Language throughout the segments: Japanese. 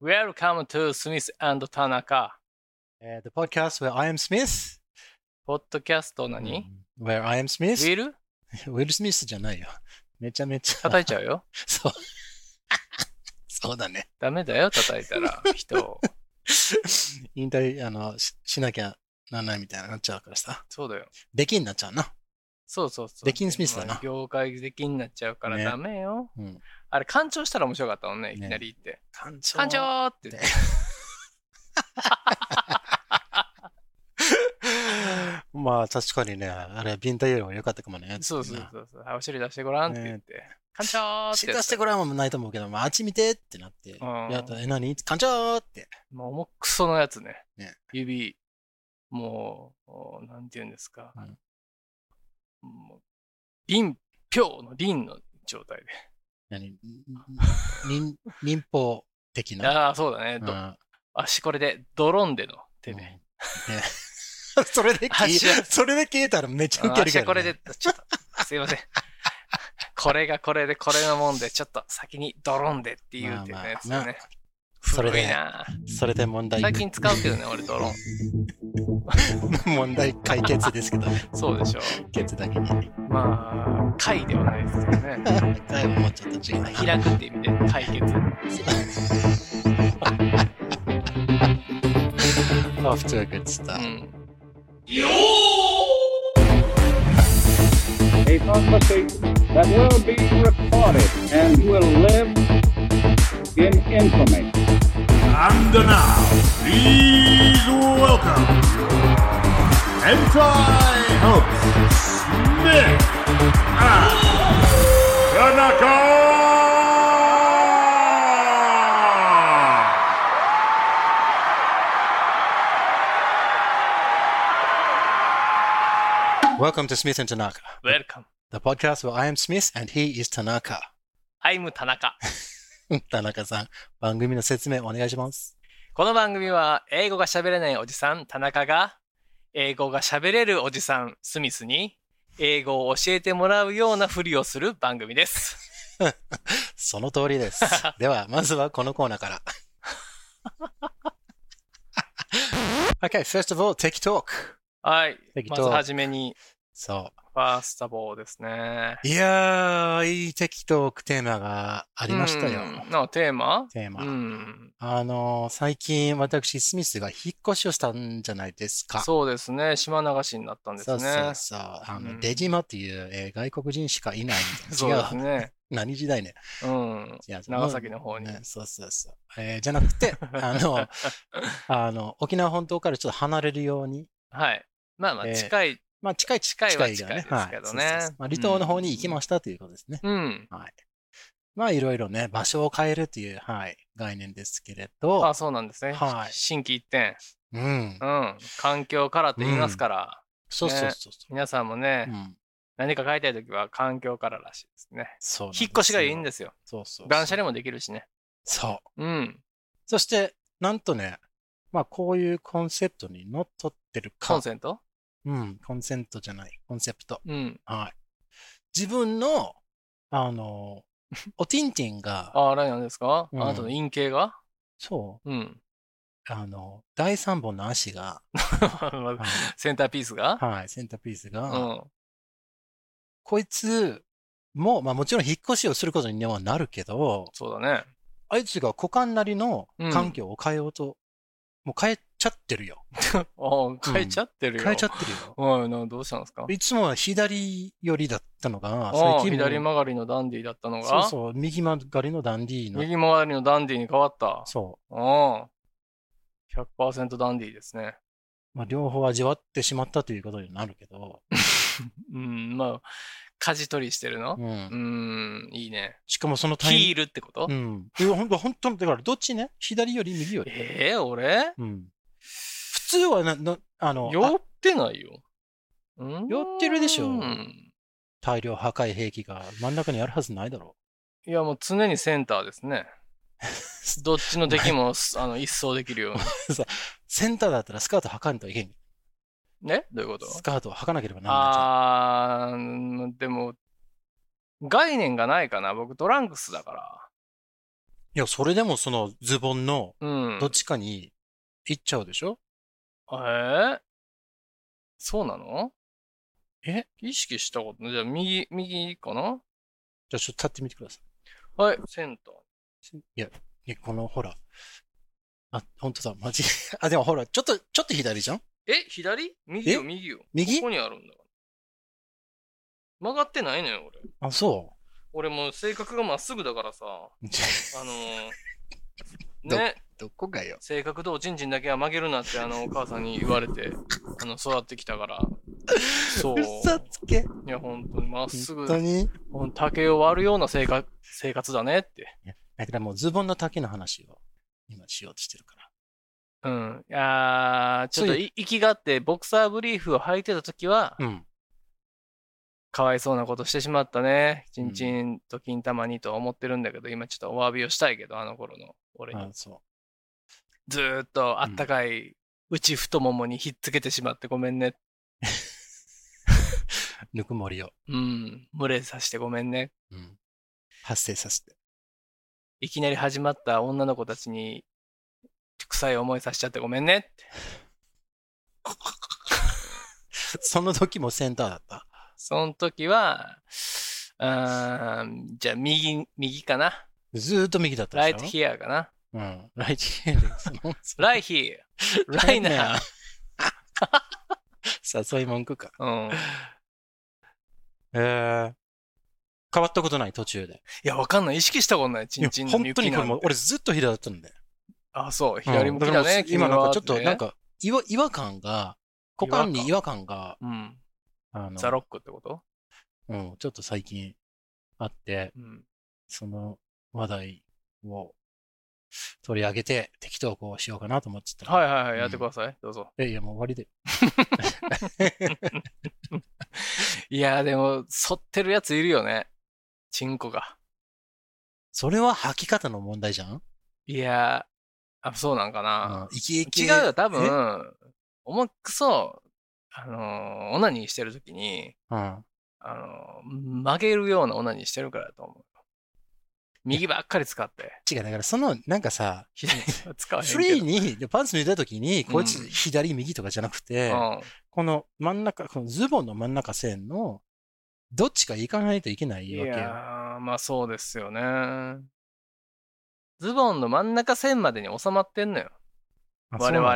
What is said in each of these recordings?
Welcome to Smith and Tanaka. The podcast where I am Smith. ポッドキャスト何、 Where I am ウ Smith. ィルウィル・スミスじゃないよ。めちゃめちゃ。 叩いちゃうよ。 そう。そうだね。 ダメだよ、叩いたら人を。 引退、しなきゃならないみたいになっちゃうからさ。 そうだよ。 出禁になっちゃうな。 そうそうそう。 出禁スミスだな。 業界出禁になっちゃうからねダメよ。 うん、 あれ、干潮したら面白かったもんね、いきなり言って。 干干潮って言って。 まあ確かにね、あれ、ビンタよりも良かったかもね。 そうそうそうそう。お尻出してごらんって言って。干潮って出してごらんもないと思うけど、あっち見てってなって。やったら、何干潮って。 もう重くそのやつね。 ね指、もう、なんて言うんですか。もう臨氷の臨の状態で。 民放的な。 ああ、そうだね。足これで、ドローンでの手で。 それで消えたらめっちゃウケるけど、ね。 足これで、ちょっと、すいません。これがこれで、これのもんで、ちょっと先にドローンでっていうっていうやつよね。 それで問題。 最近使うけどね、俺ドローン。 問題解決ですけどね。 そうでしょう。 ケツだけに。 まあ、解ではないですけどね。 解はもうちょっと違う。 開くって意味で解決。 Off to a good start. A prophecy that will be recorded and will live in infamy. And now, please welcome Hentai host Smith and Tanaka! Welcome to Smith and Tanaka. Welcome. The podcast where I am Smith and he is Tanaka. I'm 田中。 田中さん、番組の説明お願いします。 この番組は英語が喋れないおじさん、田中が英語が喋れるおじさん、スミスに英語を教えてもらうようなふりをする番組です。 その通りです。では、まずはこのコーナーから。Okay, first of all, Tech Talk. はい。まずはじめに。 そう。 ファーストボーですね。 いやー、いいテキトークテーマがありましたよ。 テーマ、 最近私、スミスが引っ越しをしたんじゃないですか。 そうですね。島流しになったんですね。 そう。出島っていう、外国人しかいないみたいな。 そうですね。 何時代ね。 長崎の方に。 そう。じゃなくて、沖縄本島からちょっと離れるように。 はい。まあ近い。近いですけどね。 離島の方に行きましたということですね。はい。いろいろね、場所を変えるという、概念ですけれど。 そうなんですね。心機一転。環境からって言いますから。 そう。 皆さんもね、何か変えたいときは環境かららしいですね。引っ越しがいいんですよ。断捨離もできるしね。 そう。そして、なんとね、こういうコンセプトにのっとってるか。 コンセント？ コンセントじゃない。コンセプト。 はい。 自分の、おティンティンが。 あれなんですか？あなたの陰茎が？ そう。第3本の足が。 センターピースが？ はい、センターピースが。こいつも、もちろん引っ越しをすることにはなるけど。 そうだね。 あいつが股間なりの環境を変えようと。もう変えちゃってるよ。 変えちゃってるよ。 変えちゃってるよ。 どうしたんですか？ いつもは左寄りだったのが、 最近左曲がりのダンディだったのが、 そう、右曲がりのダンディー右曲がりのダンディに変わった。 そう。 100% ダンディですね。 両方味わってしまったということになるけど。 舵取りしてるの？いいね。 しかもそのヒールってこと？ 本当だからどっちね？左より右より。 俺？ 普通は酔ってないよ。 酔ってるでしょ。大量破壊兵器が真ん中にあるはずないだろう。いやもう常にセンターですね。どっちの敵も一掃できるように。 センターだったらスカート履かんといけん。 ね？どういうこと？ スカートを履かなければならない。 でも、概念がないかな。僕トランクスだから。 いや、それでもそのズボンのうん。 どっちかに行っちゃうでしょ？ そうなの？ え？ 意識したことじゃあ、右かな？ じゃあちょっと立ってみてくださはい、センター。 い。いや、このほら。あ、本当だ、マジ。あ、でもほら、ちょっと左じゃん？ 左？右よ。 右？ ここにあるんだから。曲がってないのよ、俺。 あ、そ俺もう性格がまっすぐだからさ。 う。 ね。 どこがよ。 性格とおちんちんだけは曲げるなってお母さんに言われて、育ってきたから。そう。 嘘つけ。 いや、本当にまっすぐ。 本当に？ 竹を割るような生活だねって。 だからもうズボンの丈の話を今しようとしてるから。 うん。いやー、ちょっと息があって、ボクサーブリーフを履いてた時は、 うん。 かわいそうなことしてしまったね。ちんちんと金玉にとは思ってるんだけど、今ちょっとお詫びをしたいけど、あの頃の俺に。ずーっとあったかい内太ももにひっつけてしまってごめんね。 ぬくもりを。 うん。群れさせてごめんね。 うん。発生させて。 いきなり始まった女の子たちに臭い思いさせちゃってごめんねって。 その時もセンターだった？ その時は、じゃあ右かな。 ずーっと右だったでしょ？ right here かな。 うん。right here です。 right here. right now. 誘い文句か。 うん。 変わったことない途中で。 いや、わかんない。意識したことない。ちんちんの本当にこれも俺ずっと左だったんで。 あ、そう。左向きだね。 今なんかちょっとなんか違和感が、股間に違和感が、 うん。ザロックってこと？ うん、ちょっと最近あって、その話題を取り上げて適当こうしようかなと思ってた。 はい、やってください。どうぞ。 いや、もう終わりで。 いや、でも、反ってるやついるよね。チンコが。 それは履き方の問題じゃん？ いや、そうなんかな。 違うよ、多分、重くそ、オナニーしてるときに、曲げるようなオナニーしてるからだと思う。右ばっかり使って。 違う、だからなんかさ、 左は使わへんけど。 フリーに、パンツ脱いだときに、こいつ左右とかじゃなくて、この真ん中、このズボンの真ん中線の、どっちか行かないといけないわけよ。 いやー、まあそうですよね。ズボンの真ん中線までに収まってんのよ。我々は。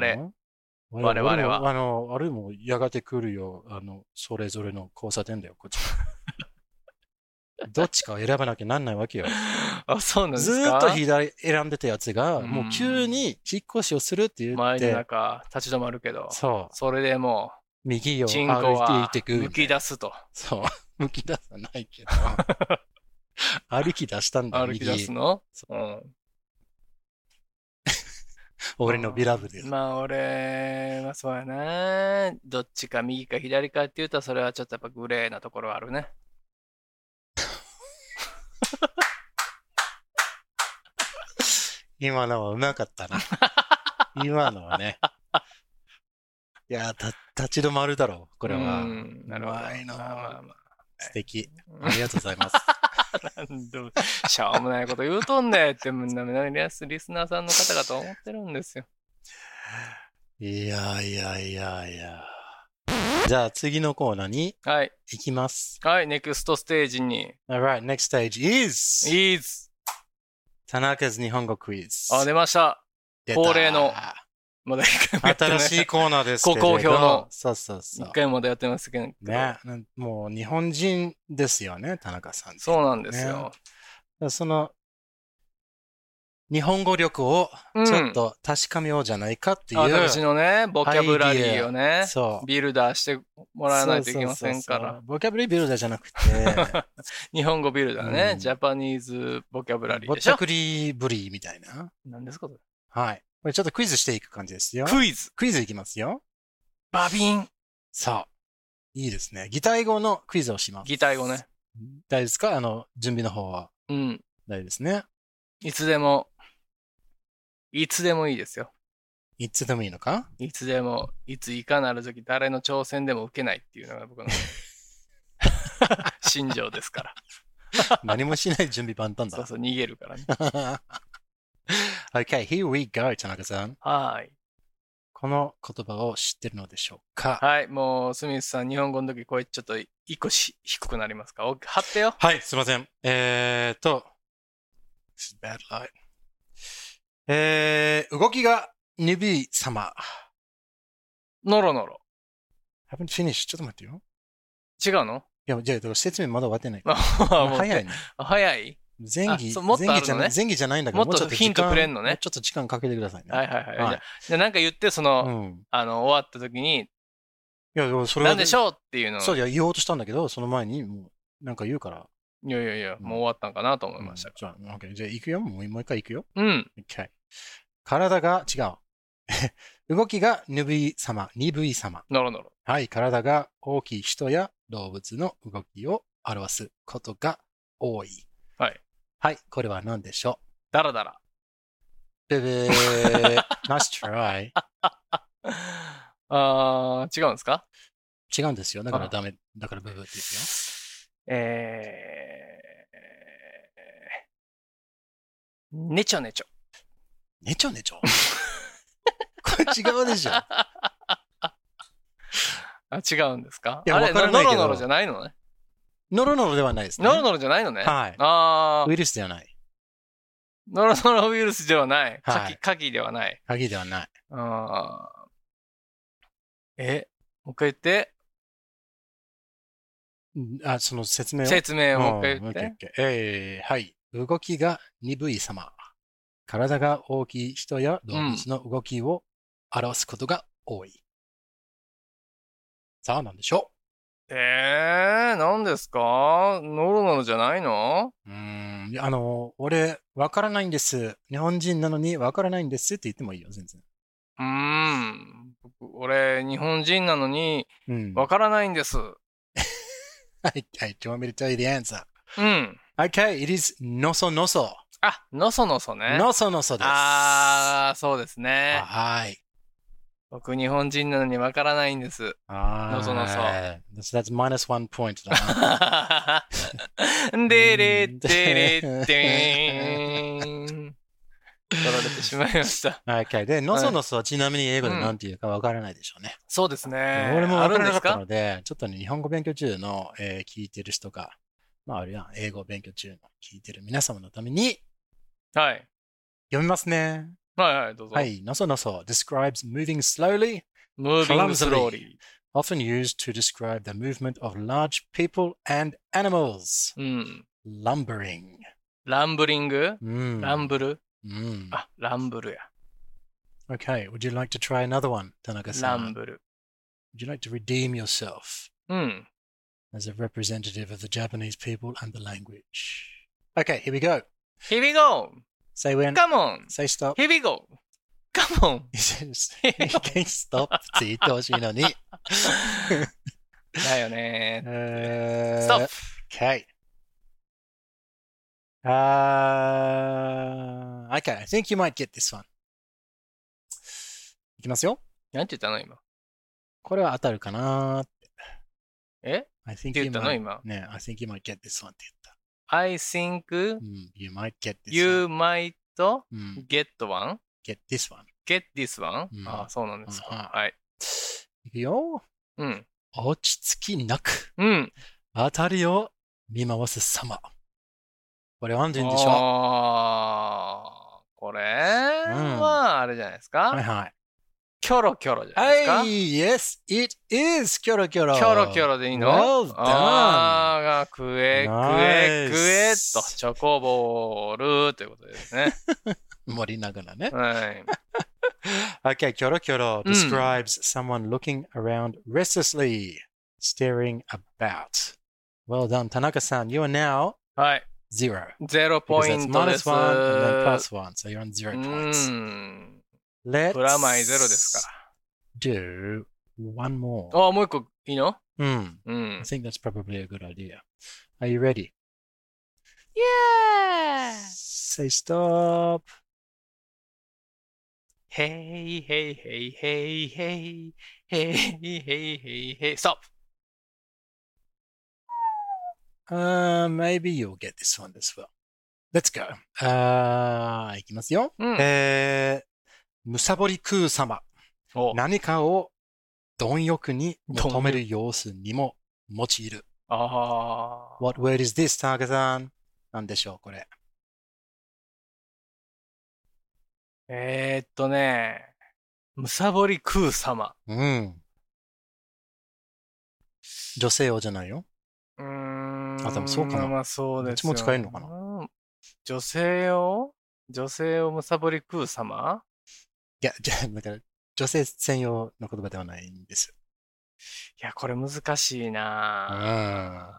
あれもやがて来るよ。それぞれの交差点だよ、こっち。どっちかを選ばなきゃなんないわけよ。 あ、そうなんですか？ ずーっと左選んでたやつが、もう急に引っ越しをするって言って。 前の中、立ち止まるけど。 そう。 それでもう、 右をチンコはむき出すと。 そう。むき出さないけど。歩き出したんだ、 歩き出すの？うん。 俺のビラブで。 まあ俺はそうやな。どっちか右か左かって言うとそれはちょっとやっぱグレーなところあるね。 今のはうまかったな。今のはね。いや、立ち止まるだろう、これは。 なるほど。 素敵。ありがとうございます。 しょうもないこと言うとんねってみんなリスナーさんの方々と思ってるんですよ。 いや。じゃあ次のコーナーに行きます。 はい、ネクストステージに。 Alright, next stage is 田中日本語クイズ。 出ました。恒例の。まだ一回もやってない。 新しいコーナーですけれど。 ご好評の。 そう。 一回もまだやってますけど。 ね。もう日本人ですよね、田中さん、 そうなんですよ。 その、日本語力をちょっと確かめようじゃないかっていう。 私のね、ボキャブラリーをね、ビルダーしてもらわないといけませんから。 ボキャブラリービルダーじゃなくて、 日本語ビルダーね、ジャパニーズボキャブラリーでしょ。 ぼったくりブリーみたいな。 何ですかそれ？ はい。これちょっとクイズしていく感じですよ。 クイズいきますよ。 バビン。 さあ、いいですね。擬態語のクイズをします。 擬態語ね。 大丈夫ですか？準備の方は。 うん。 大丈夫ですね。 いつでもいいですよ。 いつでもいいのか？ いつでも、いついかなる時誰の挑戦でも受けないっていうのが僕の心情ですから。 何もしない準備万端だ。 そう、逃げるからね。 Okay, here we go, 田中さん。 はい。 この言葉を知ってるのでしょうか？ はい。もう、スミスさん、日本語の時、これちょっと一個低くなりますか？貼ってよ。 はい、すいません。This is bad light. 動きが鈍い様。 ノロノロ。 haven't finished. ちょっと待ってよ。 違うの？ いや、じゃあ、説明まだ終わってないから。早いね。 早い？ 前儀じゃないんだけど、 もっとヒントくれんのね。 もうちょっと時間かけてくださいね。 はいはいはい。じゃあなんか言って、終わった時に、 いや、それは。 なんでしょうっていうのを。 そう、言おうとしたんだけど、その前に、もう、なんか言うから。 いや、もう終わったんかなと思いましたから。 じゃあ、行くよ。もう一回行くよ。 うん。 Okay. 体が違う。動きが鈍い様。 ノロノロ。 はい。体が大きい人や動物の動きを表すことが多い。 はい。 はい。これは何でしょう？ ダラダラ。 ブブー。Nice try. 違うんですか？ 違うんですよ。だからダメ。だからブブーって言うよ。ねちょねちょ。 ねちょねちょこれ違うでしょ。 違うんですか？ いや、わからないけど。 ノロノロじゃないのね。 ノロノロではないですね。 ノロノロじゃないのね。 はい。ウイルスではない。 ノロノロウイルスではない。 鍵ではない。 鍵ではない。 もう一回言って。 その説明を。 説明をもう一回言って。 はい。動きが鈍い様。体が大きい人や動物の動きを表すことが多い。さあ、何でしょう？何ですか？ノロノロじゃないの？ 俺、わからないんです。日本人なのにわからないんですって言ってもいいよ、全然。 俺、日本人なのにわからないんです。 はい、do you want me to tell you the answer? Okay, it is のそのそ。 のそのそね。 のそのそです。 そうですね。 はい。 僕、日本人なのにわからないんです。のそのそ。 That's minus 1 point だな。でれでれでーん。取られてしまいました。 Okay. で、のそのそはちなみに英語で何て言うかわからないでしょうね。 そうですね。 俺もわからなかったので、ちょっとね、日本語勉強中の、聞いてる人が、あるいは英語勉強中の聞いてる皆様のために、 はい。 読みますね。 はい、どうぞ。 はい、のそのそ describes moving slowly, clumsily, often used to describe the movement of large people and animals. Lumbering. ランブリング？ランブル？ランブルや。 Okay, would you like to try another one, 田中さん？ ランブル。 Would you like to redeem yourself as a representative of the Japanese people and the language? Okay, here we go. Here we go. Say when. Come on. Say stop. Here we go. Come on. He says, you can stop って言ってほしいのに。 だよね。 Stop. Okay. Okay, I think you might get this one. いきますよ。 なんて言ったの今。 これは当たるかなーって。 I think you might. 今。 ね、I think you might get this one って言った。 I think you might get this you one. might get one? Get this one. Get this one? そうなんですか。はい。 いくよ。落ち着きなく。当たりを見回す様。これは何て言うんでしょう？ これはあれじゃないですか？ はいはい。 キョロキョロじゃないですか？ はい、yes, it is キョロキョロ。 キョロキョロでいいの？ Well done. くえと、チョコボールということですね。 盛りながらね。 はい。 Okay, キョロキョロ describes someone looking around restlessly, staring about. Well done, 田中さん。You are now 0. 0ポイントです。 minus 1 and then plus 1, so you're on 0 points. Let's プラマイゼロですから。 do one more. もう一個いいの I think that's probably a good idea. Are you ready? Yeah! Say stop. Hey, hey, hey, hey, hey, hey, hey, hey, hey, stop! Maybe you'll get this one as well. Let's go. いきますよ。 うんむさぼり空様。 お何かを貪欲に求める様子にも用いる。 ああ。 What word is this, 田中さん？なんでしょう、これ。 むさぼり空様。 うん。女性用じゃないよ。 うーん。 あ、でもそうかな。 まあそうですよ。 どっちも使えるのかな。 女性用むさぼり空様？ いや、だから、女性専用の言葉ではないんです。 いや、これ難しいな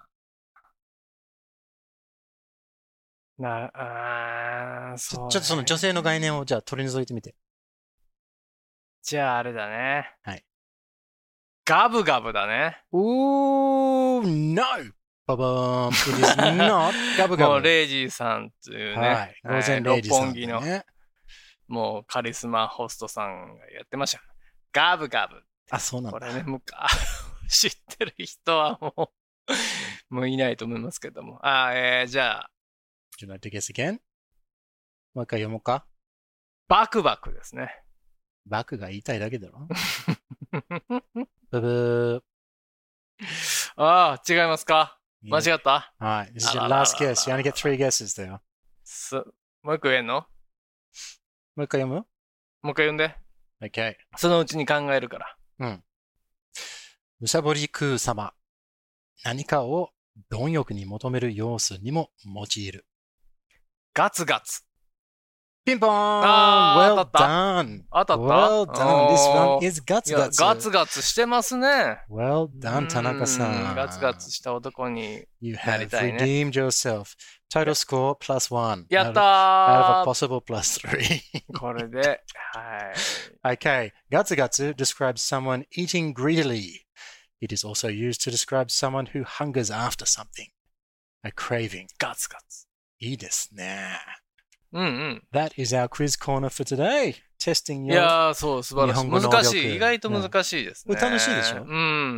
そうね。 ちょっとその女性の概念をじゃあ取り除いてみて。 じゃああれだね。 はい。 ガブガブだね。 No! ババーン。It is not ガブガブ。 もうレイジーさんっていうね。 はい。午前レイジーさん、ね。 六本木の、もうカリスマホストさんがやってました。ガブガブ。 あ、そうなんだ。 これね、知ってる人はもういないと思いますけども。じゃあ。 Do you like to guess again? もう一回読もうか。 バクバクですね。 バクが言いたいだけだろ。ブブー。 ああ、違いますか？間違った？ はい。This is your last guess. You only get 3 guesses there. もう一個言えんの？ もう一回読む？ もう一回読んで。 Okay. そのうちに考えるから。 うん。むさぼり空様。何かを貪欲に求める様子にも用いる。 ガツガツ。 ピンポーン !Well done! 当たった Well done! This one is ガツガツ。 ガツガツしてますね。 Well done, 田中さん。 ガツガツした男に You なり have たいね。 redeemed yourself. Total score plus 1. やったー Out of a possible plus 3. これで、はい。 Okay. ガツガツ describes someone eating greedily. It is also used to describe someone who hungers after something. A craving. ガツガツ。 いいですね。 うんうん。 That is our quiz corner for today. Testing your いやー、そう、素晴らしい。難しい。意外と難しいですね。 これ楽しいでしょ？ うん。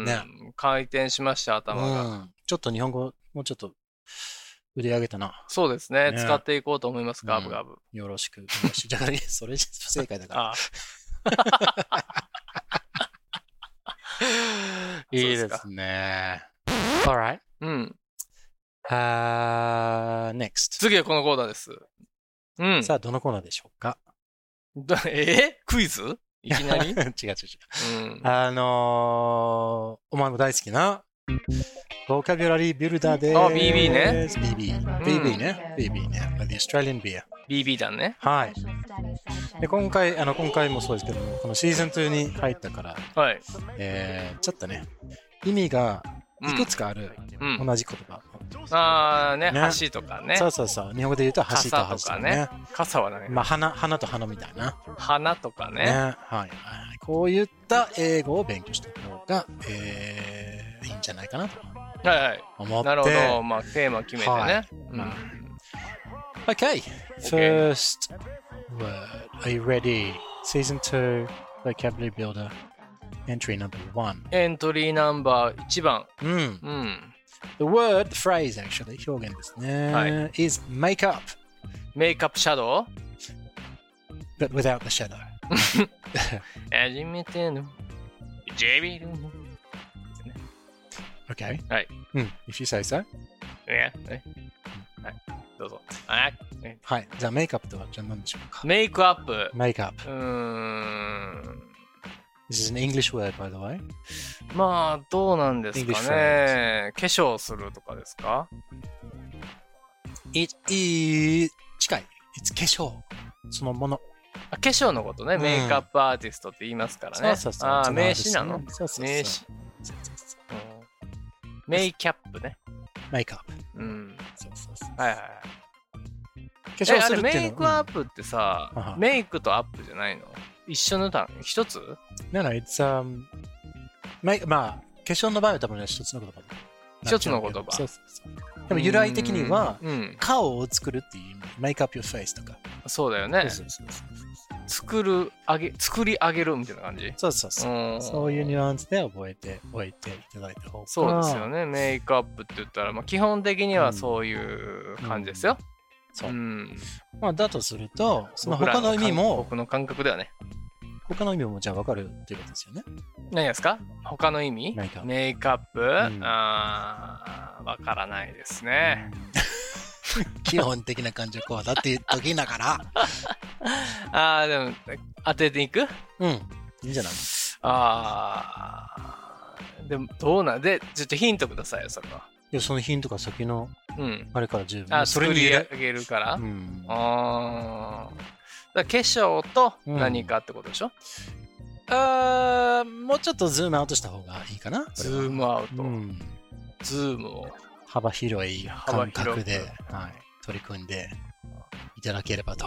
ね、回転しました、頭が、 うん。ちょっと日本語、もうちょっと腕上げたな。 そうですね。使っていこうと思います、ガブガブ。 よろしく。じゃあ、それ不正解だから。いいですね。Alright. うん。 Next. 次はこのコーナーです。うん。 さあ、どのコーナーでしょうか？ クイズ？いきなり？ 違う。お前も大好きな、ボキャビュラリービルダーです。 BB ね。 BB ね。BB ね。The Australian Beer。 BB だね。 はい。で、今回もそうですけども、このシーズン2に入ったから、 はい。 ちょっとね、意味がいくつかある、同じ言葉。 橋とかね。 そう。日本語で言うと橋と橋とかね。 傘はね。 まあ、花と花みたいな。 花とかね。 はい。こういった英語を勉強した方が、いいんじゃないかなと。 はい。 思って。 なるほど。まあ、テーマ決めてね。 Okay. First word. Are you ready? Season 2 Vocabulary Builder. Entry number 1. エントリーナンバー1番。 The word, the phrase actually, 表現ですね。is make up. Make up shadow? But without the shadow. 初めてのJB の。 Okay. はい。 If you say so. はい。どうぞ。 はい。じゃあ、メイクアップとはじゃあ何でしょうか？ メイクアップ。 メイクアップ。This is an English word, by the way. まあ、どうなんですかね。化粧するとかですか？ It is 近い。It's 化粧。そのもの。 化粧のことね。メイクアップアーティストって言いますからね。 そう。 名詞なの？名詞。メイキャップね。 メイクアップ。そう。 はい。 化粧するっていうのメイクアップってさ、メイクとアップじゃないの？一緒の単位？一つ？ No, it's まあ、化粧の場合は多分ね、一つの言葉。 一つの言葉。 そう。でも由来的には、顔を作るっていう意味。make up your face とか。 そうだよね。作り上げるみたいな感じ？そう。 そういうニュアンスで覚えておいていただいた方が。 そうですよね。メイクアップって言ったら、まあ、基本的にはそういう感じですよ。 そう。 うん。 まあ、だとすると、その他の意味も、 僕の感覚ではね。 他の意味もじゃあ分かるっていうことですよね。 何ですか？他の意味？メイクアップ、分からないですね。 基本的な感情こうだって言っときながら。でも、当てていく？ うん。いいんじゃない？ でも、どうなんで、ちょっとヒントくださいよ、それは。 いや、そのヒントが先の、あれから十分。 それに入れあげるから。だから化粧と何かってことでしょ？ もうちょっとズームアウトした方がいいかな。 ズームアウト。ズームを。 幅広い感覚で、取り組んでいただければと。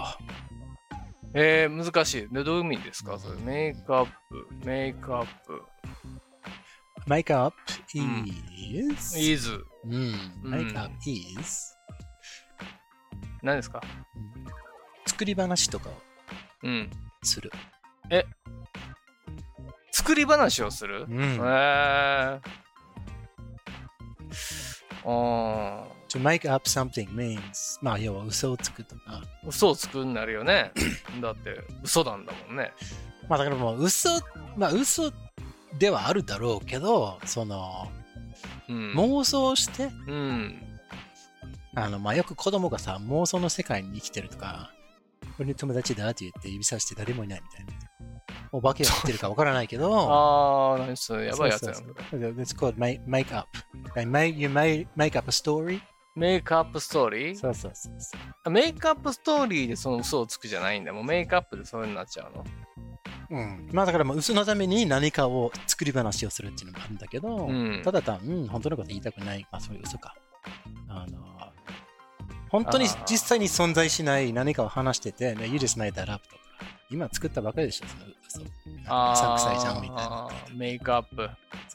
難しい。で、どういう意味ですか？それメイクアップ。 メイクアップ is メイクアップ is 何ですか？ 作り話とかをする。 作り話をする？ To make up something means まあ要は嘘をつくとか。 嘘をつくになるよね。だって嘘なんだもんね。 まあだからもう嘘ではあるだろうけど、その、妄想して、まあよく子供がさ、妄想の世界に生きてるとか、これに友達だって言って指さして誰もいないみたいな。お化けが言ってるかわからないけど、 何それやばいやつやん。 It's called make up. You make up a story? メイクアップストーリー？ そうそう。 メイクアップストーリーでその嘘をつくじゃないんだ。もうメイクアップでそういうになっちゃうの？ まあだからもう嘘のために何かを作り話をするっていうのもあるんだけど、ただ本当のこと言いたくない。まあそういう嘘か。本当に実際に存在しない何かを話してて、You just made that up とか。今作ったばかりでしょ、その嘘。うさんくさいじゃんみたいな。 メイクアップ。 そう。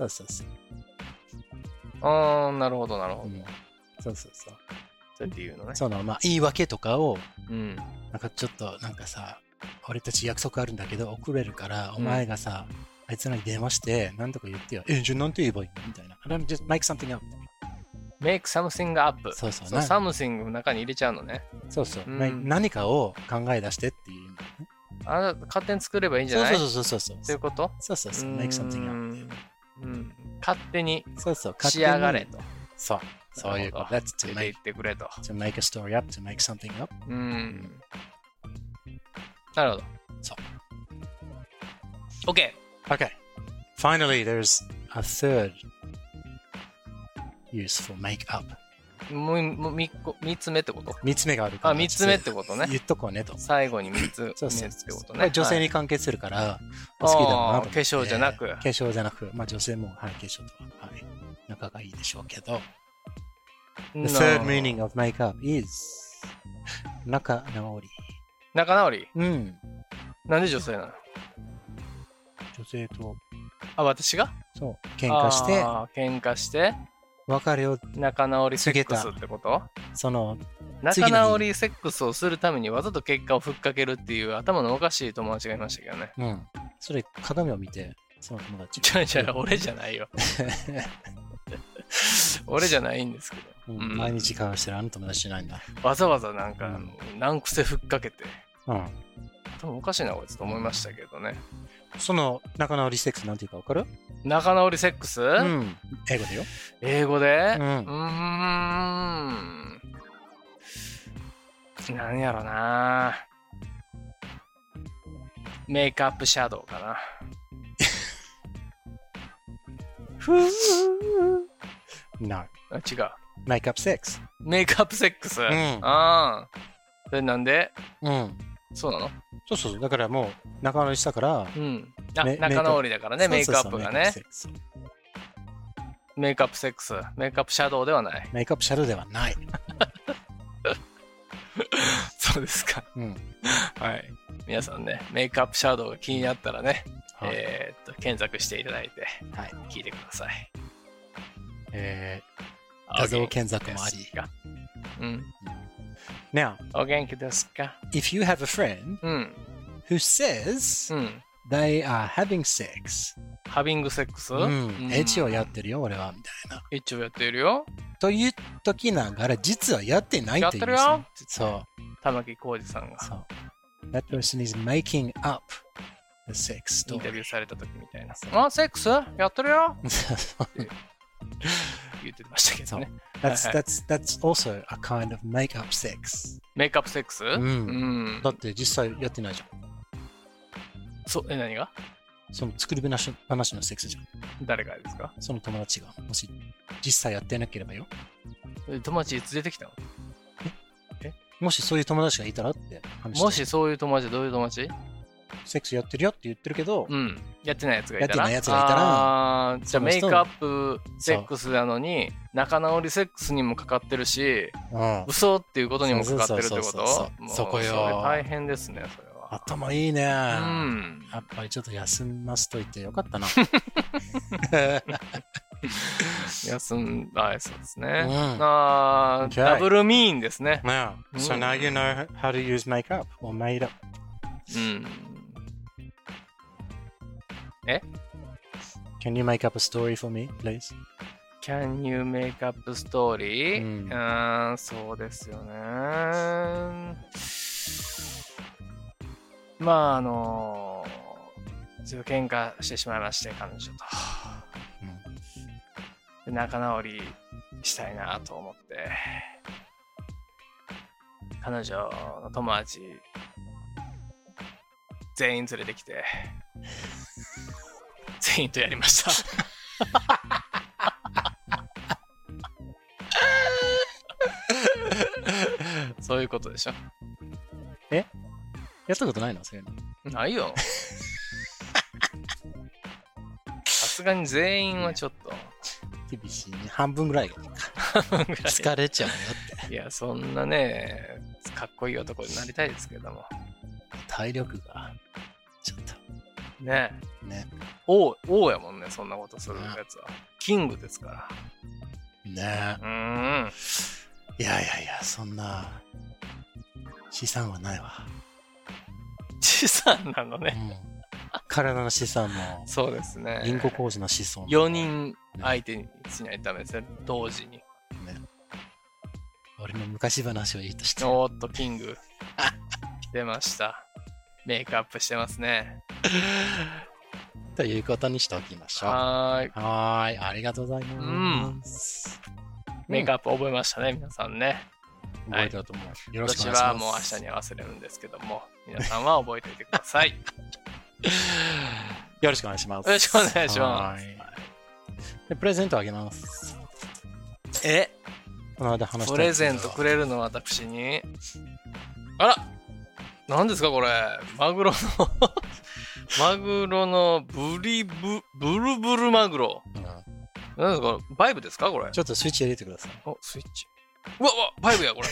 なるほど。 そう。 そうやって言うのね。 そのまあ言い訳とかを、なんかちょっとなんかさ、俺たち約束あるんだけど遅れるから、お前がさ、あいつらに電話して何とか言ってよ。じゃあなんて言えばいいのみたいな。just make something up. make something up. そう。 something の中に入れちゃうのね。 そう。何かを考え出してっていう意味ね。 あなた勝手に作ればいいんじゃない？ そう。 そういうこと？ そう。make something up. 勝手に仕上がれと。 そういうこと。That's to make, ってくれと。 to make a story up, to make something up. なるほど。 そう。 OK。 Finally, there's a third use for make up. もう3つ目ってこと？ 3つ目があるから。 3つ目ってことね。 言っとこうねと。 最後に3つ目ってことね。 女性に関係するから、 好きだなと。化粧じゃなく。 化粧じゃなく、まあ女性も、化粧とは、仲がいいでしょうけど。The third meaning of make up is 仲直り。 仲直り？なんで女性なの？ 女性と。 私が？ そう。喧嘩して。別れを仲直りセックスってこと？ その仲直りセックスをするためにわざと結果をふっかけるっていう頭のおかしい友達がいましたけどね。 それ鏡を見てその友達。 じゃあ俺じゃないよ。俺じゃないんですけど。 毎日会話してるあの友達じゃないんだ。 わざわざなんか難癖ふっかけて。多分おかしいなこいつと思いましたけどね。 その仲直りセックスなんていうか分かる？ 仲直りセックス？ 英語でよ。 英語で？何やろな。メイクアップシャドウかな。 No. 違う。 メイクアップセックス。 メイクアップセックス。それなんで？そうなの？ そう。だからもう仲直りしたから。 仲直りだからね、メイクアップがね。メイクアップセックス。メイクアップシャドウではない。 メイクアップシャドウではない。 そうですか。はい。皆さんね、メイクアップシャドウが気になったらね、検索していただいて、聞いてください。 画像検索もあり。Now, お元気ですか？ If you have a friend who says they are having sex, ハビングセックス？ エッチをやってるよ、俺は、みたいな。 エッチをやってるよ？ という時ながら、実はやってないという。 やってるよ。 そう。 玉置浩二さんが。 そう。That person is making up the sex story. インタビューされた時みたいな。あ、セックスやってるよ言ってましたけどね。 That's also a kind of make-up sex. メイクアップセックス？ だって実際やってないじゃん。 何が？ その作り話のセックスじゃん。 誰がですか？ その友達が。もし実際やってなければよ。 友達いつ出てきたの？ もしそういう友達がいたらって話して。 もしそういう友達、どういう友達？ セックスやってるよって言ってるけど、 やってないやつがいたら。 じゃあメイクアップセックスなのに、仲直りセックスにもかかってるし、嘘っていうことにもかかってるってこと？ そこよ。 それ大変ですね、それは。 頭いいね。やっぱりちょっと休ませといてよかったな。 そうですね。ダブルミーンですね。 So now you know how to use makeup or made up. Can you make up a story for me, please? Can you make up a story? そうですよね。まあ喧嘩してしまいまして、彼女と。仲直りしたいなと思って、彼女の友達全員連れてきて、全員とやりました。そういうことでしょ。 やったことないの？そういうの。 ないよ。さすがに全員はちょっと。 厳しいね。半分ぐらい疲れちゃうよって。 いや、そんなね、かっこいい男になりたいですけども。 体力が、ちょっと。 ね。王やもんね、そんなことするやつは。キングですから。 ね。いや、そんな、資産はないわ。 資産なのね。 体の資産も。 そうですね。 銀行口座の資産。 4人相手にしないとダメですね。同時に。 俺の昔話をいいとして。 おーっと、キング。来てました。メイクアップしてますね。 ということにしておきましょう。 はい。 ありがとうございます。 メイクアップ覚えましたね、皆さんね。 覚えたと思う。よろしくお願いします。 私はもう明日に忘れるんですけども、皆さんは覚えておいてください。 よろしくお願いします。 よろしくお願いします。 でプレゼントあげます。この間話したプレゼントくれるの私に。あら、何ですかこれ。マグロのブルブルマグロ。何ですかバイブですかこれ。 ちょっとスイッチ入れてください。 お、スイッチ。うわ、バイブやこれ。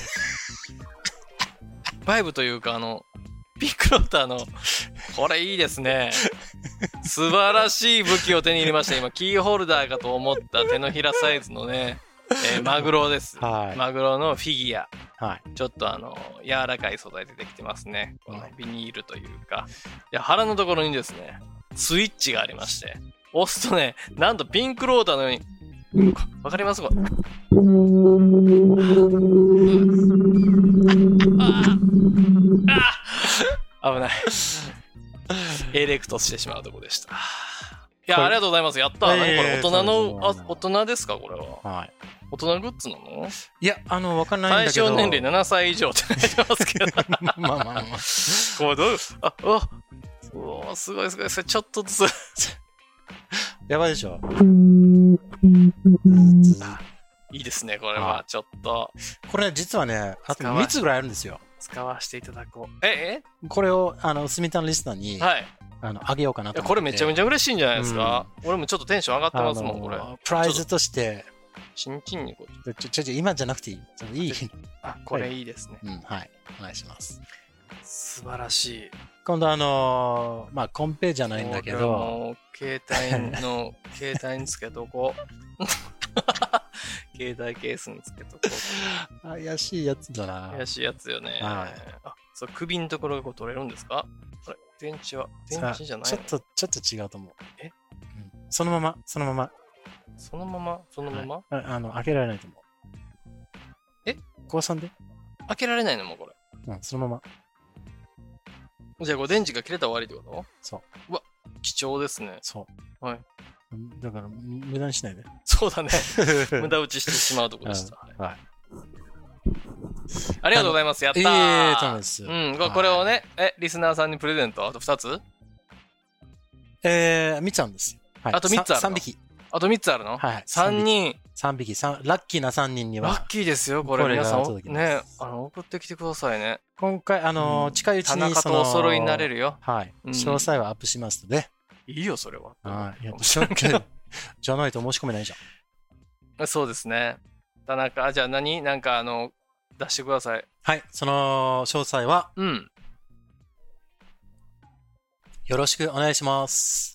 バイブというかピックロッターの、これいいですね。素晴らしい武器を手に入れました。今、キーホルダーかと思った手のひらサイズのね、マグロです。マグロのフィギュア。ちょっと柔らかい素材でできてますね。このビニールというか。腹のところにですね、スイッチがありまして、押すとね、なんとピンクローターのように、わかりますか？危ない。エレクトしてしまうとこでした。いや、ありがとうございます。やった。何これ、大人ですかこれは。大人グッズなの？ いや、わかんないんだけど。 対象年齢7歳以上って書いてますけど。 まあ。 これどういう、うわ、すごい。それちょっとずつ。 やばいでしょ。 いいですね、これは。ちょっと。 これ実はね、あと3つぐらいあるんですよ。 使わせていただこう。 これを、スミタンリスナーに、あげようかなと思って。 これめちゃめちゃ嬉しいんじゃないですか。俺もちょっとテンション上がってますもん、これ。 プライズとして、 チンチンにこう。今じゃなくていい。いい。 これいいですね。 はい。お願いします。 素晴らしい。 今度コンペじゃないんだけど。 携帯につけとこう。携帯ケースにつけとこう。 怪しいやつだな。 怪しいやつよね。そう、首のところがこう取れるんですか？これ、電池じゃないの？ちょっと違うと思う。そのまま。 そのまま開けられないと思う。 高3で開けられないのもうこれ。 うん、そのまま。 じゃあこれ電池が切れたら終わりってこと？ そう。 うわ、貴重ですね。 そう。 はい。 だから、無駄にしないで。 そうだね。無駄打ちしてしまうところでした。 はい。 ありがとうございます。やったー。 そうです。 うん。これをね、リスナーさんにプレゼント、あと2つ 3つあるんですよ。 はい、あと3つあるの？ 3匹。 あと3つあるの？ はい。 3人。 3匹。ラッキーな3人には。 ラッキーですよ、これ。皆さん、ね、送ってきてくださいね。 今回、近いうちに田中とお揃いになれるよ。 はい。詳細はアップしますので。 いいよ、それは。 はい。じゃないと申し込めないじゃん。そうですね。田中、じゃあなんか出してください。 はい。その詳細は、よろしくお願いします。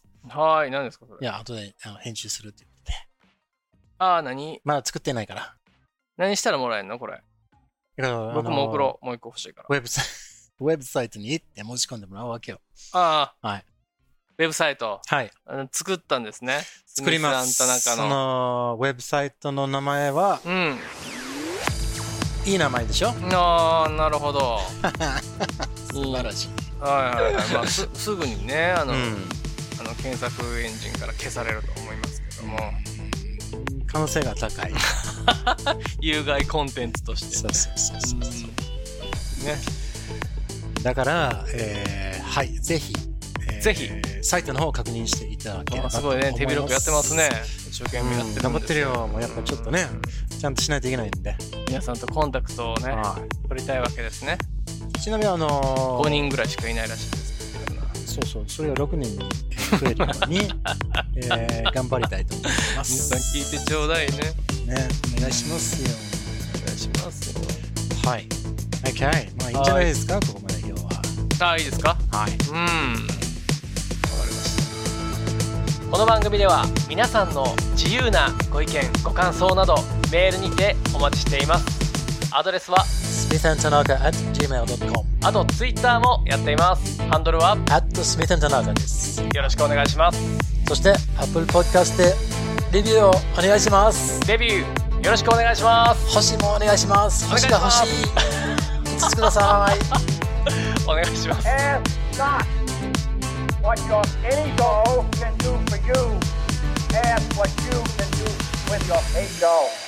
はい。何ですか、それ。 いや、後で編集するって言って。 何？ まだ作ってないから。 何したらもらえるのこれ。僕も送ろう。もう一個欲しいから。 ウェブサイトに行って申し込んでもらうわけよ。 はい。ウェブサイト。 はい。 作ったんですね。 作ります。そのウェブサイトの名前は、いい名前でしょ？ なるほど。 素晴らしい。 はい。まあすぐにね、検索エンジンから消されると思いますけども。 可能性が高い。 有害コンテンツとして。 そう。 ね。 だから、はい、ぜひ。サイトの方を確認していただければ。 すごいね、手広くやってますね。一生懸命やってる。 頑張ってるよ。もうやっぱちょっとね、ちゃんとしないといけないんで。 皆さんとコンタクトをね、取りたいわけですね。 ちなみに 5人ぐらいしかいないらしいですけど。 そう、それが6人に増えるように、頑張りたいと思います。 皆さん聞いてちょうだいね。 ね、お願いしますよ。 お願いしますよ。 はい。OK。まあいいんじゃないですか、ここまで今日は。 いいですか？ はい。 わかりました。この番組では皆さんの自由なご意見、ご感想などメールにてお待ちしています。アドレスは smithandtanaka@gmail.com。 あとツイッターもやっています。ハンドルは @smithandtanaka です。 よろしくお願いします。 そして Apple Podcast でレビューをお願いします。 レビューよろしくお願いします。 星もお願いします。星が欲しい。5つください。 お願いします。 Ask not what your ego can do for you. Ask what you can do with your ego.